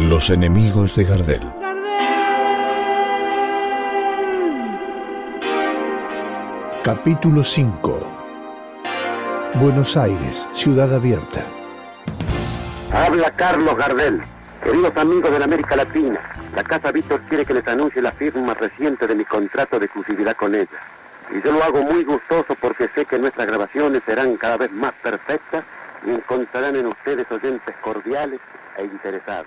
Los enemigos de Gardel. Capítulo 5. Buenos Aires, ciudad abierta. Habla Carlos Gardel. Queridos amigos de la América Latina, la Casa Víctor quiere que les anuncie la firma reciente de mi contrato de exclusividad con ella. Y yo lo hago muy gustoso porque sé que nuestras grabaciones serán cada vez más perfectas y encontrarán en ustedes oyentes cordiales e interesados.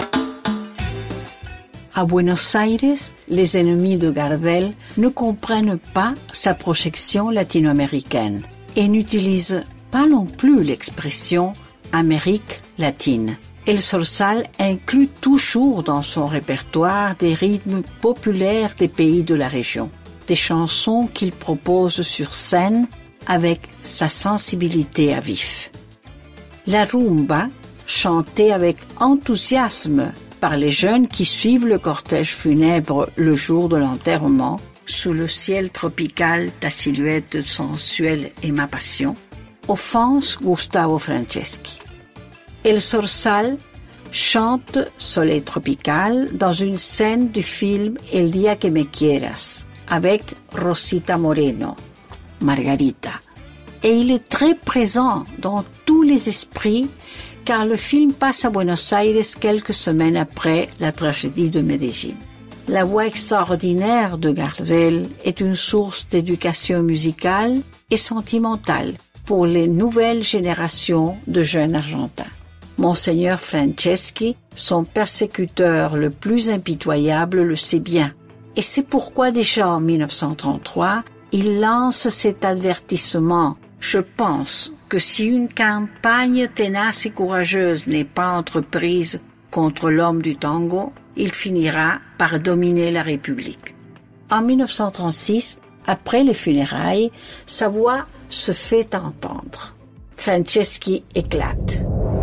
À Buenos Aires, les ennemis de Gardel ne comprennent pas sa projection latino-américaine et n'utilisent pas non plus l'expression Amérique latine. El Zorzal inclut toujours dans son répertoire des rythmes populaires des pays de la région, des chansons qu'il propose sur scène avec sa sensibilité à vif. La rumba, chantée avec enthousiasme par les jeunes qui suivent le cortège funèbre le jour de l'enterrement, sous le ciel tropical ta silhouette sensuelle et ma passion, offense Gustavo Franceschi. El Zorzal chante Soleil tropical dans une scène du film El día que me quieras, avec Rosita Moreno, Margarita. Et il est très présent dans tous les esprits car le film passe à Buenos Aires quelques semaines après la tragédie de Medellín. La voix extraordinaire de Gardel est une source d'éducation musicale et sentimentale pour les nouvelles générations de jeunes argentins. Monseigneur Franceschi, son persécuteur le plus impitoyable, le sait bien. Et c'est pourquoi déjà en 1933, il lance cet avertissement. Je pense que si une campagne tenace et courageuse n'est pas entreprise contre l'homme du tango, il finira par dominer la République. En 1936, après les funérailles, sa voix se fait entendre. Franceschi éclate.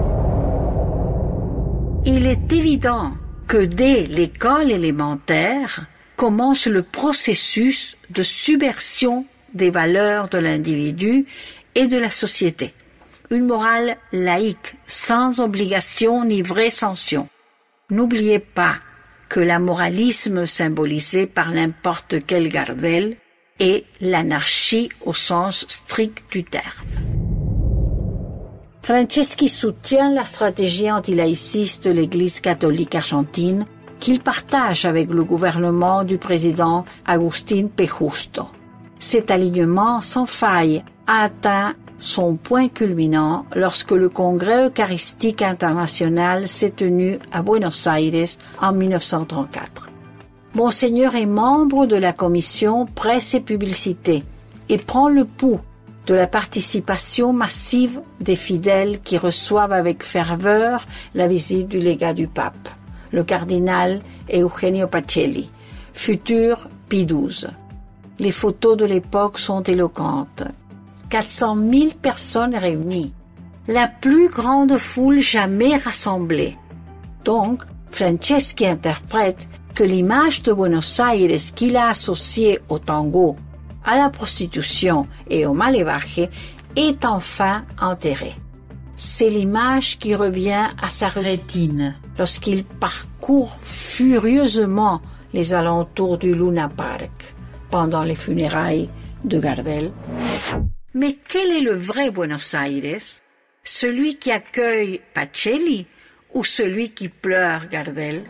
Il est évident que dès l'école élémentaire commence le processus de subversion des valeurs de l'individu et de la société. Une morale laïque, sans obligation ni vraie sanction. N'oubliez pas que l'amoralisme symbolisé par n'importe quel Gardel est l'anarchie au sens strict du terme. Franceschi soutient la stratégie antilaïciste de l'Église catholique argentine qu'il partage avec le gouvernement du président Agustín P. Justo. Cet alignement sans faille a atteint son point culminant lorsque le Congrès eucharistique international s'est tenu à Buenos Aires en 1934. Monseigneur est membre de la commission presse et publicité et prend le pouls de la participation massive des fidèles qui reçoivent avec ferveur la visite du légat du pape, le cardinal Eugenio Pacelli, futur Pie XII. Les photos de l'époque sont éloquentes. 400 000 personnes réunies. La plus grande foule jamais rassemblée. Donc, Franceschi interprète que l'image de Buenos Aires qu'il a associée au tango, à la prostitution et au malevaje est enfin enterrée. C'est l'image qui revient à sa rétine lorsqu'il parcourt furieusement les alentours du Luna Park pendant les funérailles de Gardel. Mais quel est le vrai Buenos Aires? Celui qui accueille Pacelli ou celui qui pleure Gardel?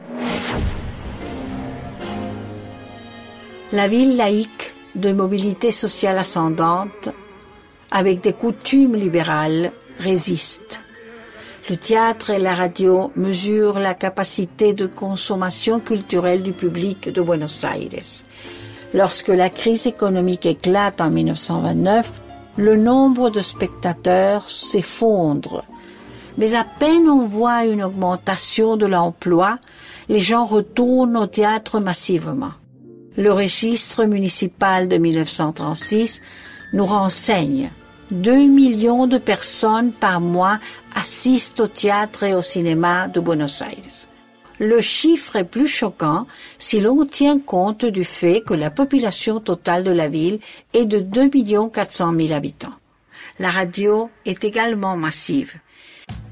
La ville laïque de mobilité sociale ascendante, avec des coutumes libérales, résiste. Le théâtre et la radio mesurent la capacité de consommation culturelle du public de Buenos Aires. Lorsque la crise économique éclate en 1929, le nombre de spectateurs s'effondre. Mais à peine on voit une augmentation de l'emploi, les gens retournent au théâtre massivement. Le registre municipal de 1936 nous renseigne 2 millions de personnes par mois assistent au théâtre et au cinéma de Buenos Aires. Le chiffre est plus choquant si l'on tient compte du fait que la population totale de la ville est de 2 400 000 habitants. La radio est également massive.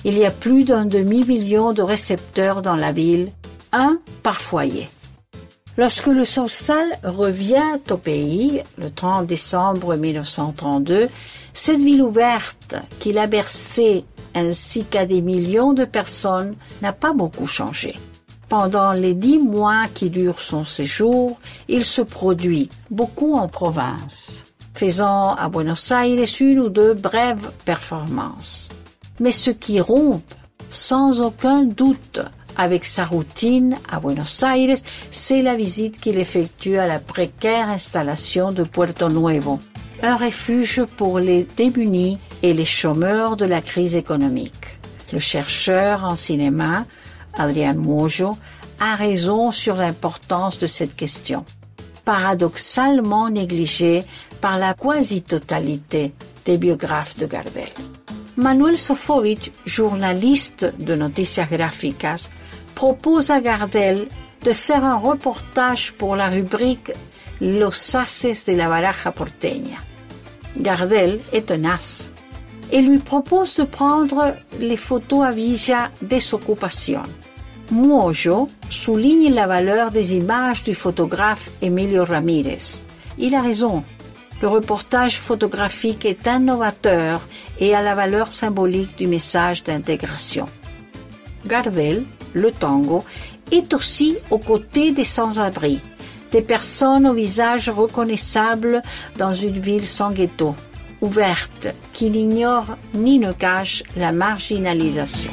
Il y a plus d'un demi-million de récepteurs dans la ville, un par foyer. Lorsque le Sorsal revient au pays, le 30 décembre 1932, cette ville ouverte qu'il a bercée ainsi qu'à des millions de personnes n'a pas beaucoup changé. Pendant les 10 mois qui durent son séjour, il se produit beaucoup en province, faisant à Buenos Aires une ou deux brèves performances. Mais ce qui rompt, sans aucun doute, avec sa routine à Buenos Aires, c'est la visite qu'il effectue à la précaire installation de Puerto Nuevo, un refuge pour les démunis et les chômeurs de la crise économique. Le chercheur en cinéma, Adrián Mojo, a raison sur l'importance de cette question, paradoxalement négligée par la quasi-totalité des biographes de Gardel. Manuel Sofovich, journaliste de Noticias Gráficas, propose à Gardel de faire un reportage pour la rubrique Los Haces de la Baraja Porteña. Gardel est tenace et lui propose de prendre les photos à Villa Desocupación. Mojo souligne la valeur des images du photographe Emilio Ramírez. Il a raison. Le reportage photographique est innovateur et a la valeur symbolique du message d'intégration. Gardel, le tango, est aussi aux côtés des sans-abri, des personnes au visage reconnaissable dans une ville sans ghetto, ouverte, qui n'ignore ni ne cache la marginalisation.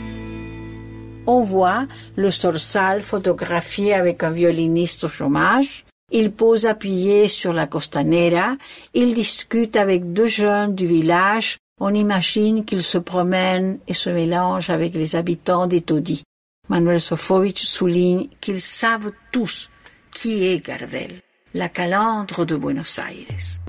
On voit le Sorsal photographié avec un violiniste au chômage. Il pose appuyé sur la costanera. Il discute avec 2 jeunes du village. On imagine qu'il se promène et se mélange avec les habitants des taudis. Manuel Sofovich souligne qu'ils savent tous qui est Gardel, la calandre de Buenos Aires.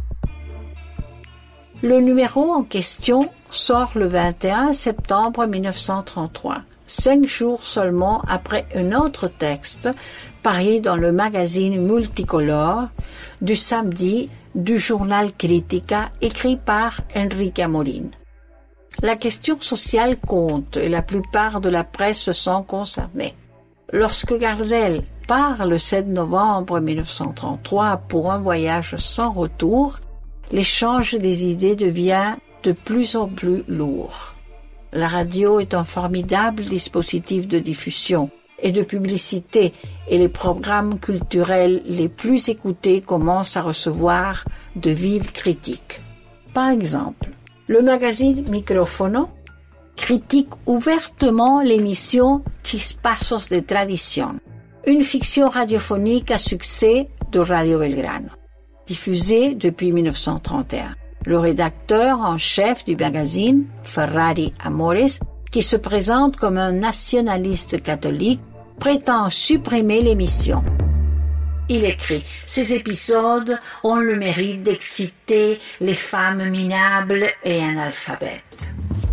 Le numéro en question sort le 21 septembre 1933, 5 jours seulement après un autre texte paru dans le magazine Multicolor du samedi du journal Crítica écrit par Enrique Amorín. La question sociale compte et la plupart de la presse sont concernée. Lorsque Gardel part le 7 novembre 1933 pour un voyage sans retour, l'échange des idées devient de plus en plus lourd. La radio est un formidable dispositif de diffusion et de publicité et les programmes culturels les plus écoutés commencent à recevoir de vives critiques. Par exemple, le magazine Micrófono critique ouvertement l'émission Chispazos de Tradición, une fiction radiophonique à succès de Radio Belgrano, diffusée depuis 1931. Le rédacteur en chef du magazine, Ferrari Amores, qui se présente comme un nationaliste catholique, prétend supprimer l'émission. Il écrit « Ces épisodes ont le mérite d'exciter les femmes minables et analphabètes. »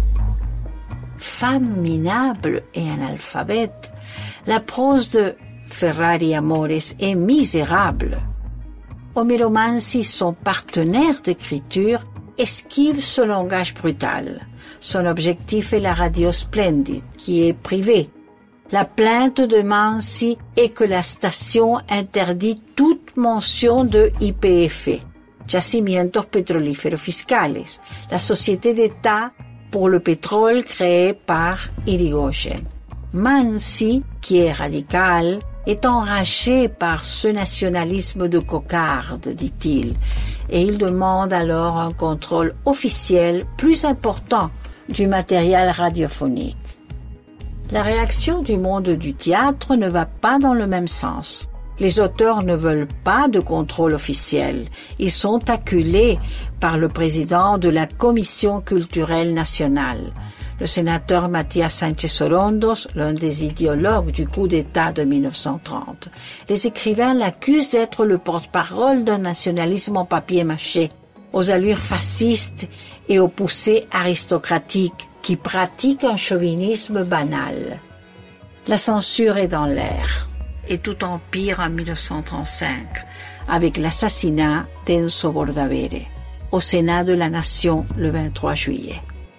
Femmes minables et analphabètes, la prose de Ferrari Amores est misérable. Homero Mansi, son partenaire d'écriture, esquive ce langage brutal. Son objectif est la radio Splendid, qui est privée. La plainte de Mansi est que la station interdit toute mention de YPF, Yacimientos Petrolíferos Fiscales, la société d'État pour le pétrole créée par Irigoyen. Mansi, qui est radical, est enragé par ce nationalisme de cocarde, dit-il, et il demande alors un contrôle officiel plus important du matériel radiophonique. La réaction du monde du théâtre ne va pas dans le même sens. Les auteurs ne veulent pas de contrôle officiel. Ils sont acculés par le président de la Commission culturelle nationale, le sénateur Matías Sánchez Orondos, l'un des idéologues du coup d'État de 1930. Les écrivains l'accusent d'être le porte-parole d'un nationalisme en papier-mâché, aux allures fascistes et aux poussées aristocratiques, qui pratiquent un chauvinisme banal. La censure est dans l'air, et tout empire en 1935, avec l'assassinat d'Enzo Bordavere, au Sénat de la Nation le 23 juillet.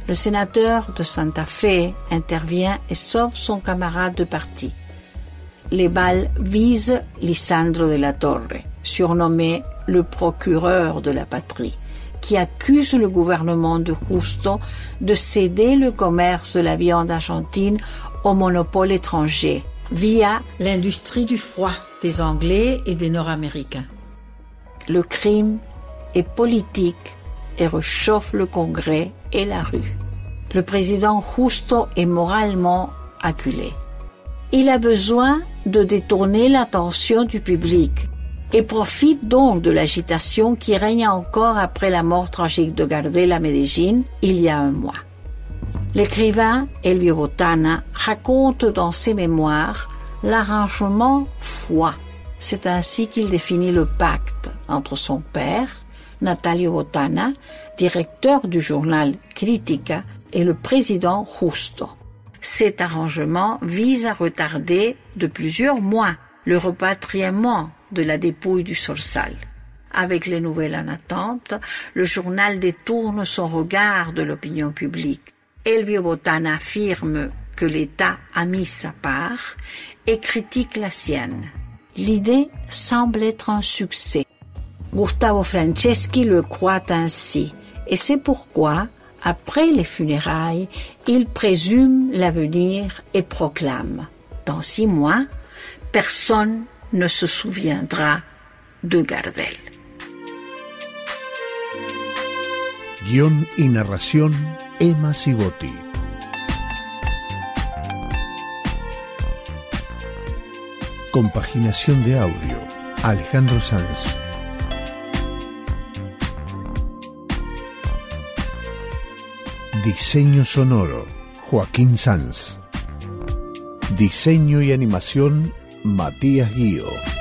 Le sénateur de Santa Fe intervient et sauve son camarade de parti. Les balles visent Lisandro de la Torre, surnommé le procureur de la patrie, qui accuse le gouvernement de Justo de céder le commerce de la viande argentine au monopole étranger, via l'industrie du foie des Anglais et des Nord-Américains. Le crime est politique et réchauffe le Congrès et la rue. Le président Justo est moralement acculé. Il a besoin de détourner l'attention du public et profite donc de l'agitation qui règne encore après la mort tragique de Gardel à Medellín il y a un mois. L'écrivain Elvio Botana raconte dans ses mémoires l'arrangement foi. C'est ainsi qu'il définit le pacte entre son père, Natalio Botana, directeur du journal Critica, et le président Justo. Cet arrangement vise à retarder de plusieurs mois le repatriement de la dépouille du Sorsal. Avec les nouvelles en attente, le journal détourne son regard de l'opinion publique. Elvio Botana affirme que l'État a mis sa part et critique la sienne. L'idée semble être un succès. Gustavo Franceschi le croit ainsi, et c'est pourquoi, après les funérailles, il présume l'avenir et proclame « Dans 6 mois, personne ne se souviendra de Gardel ». Guión y narración, Emma Sibotti. Compaginación de audio, Alejandro Sanz. Diseño sonoro, Joaquín Sanz. Diseño y animación, Matías Guío.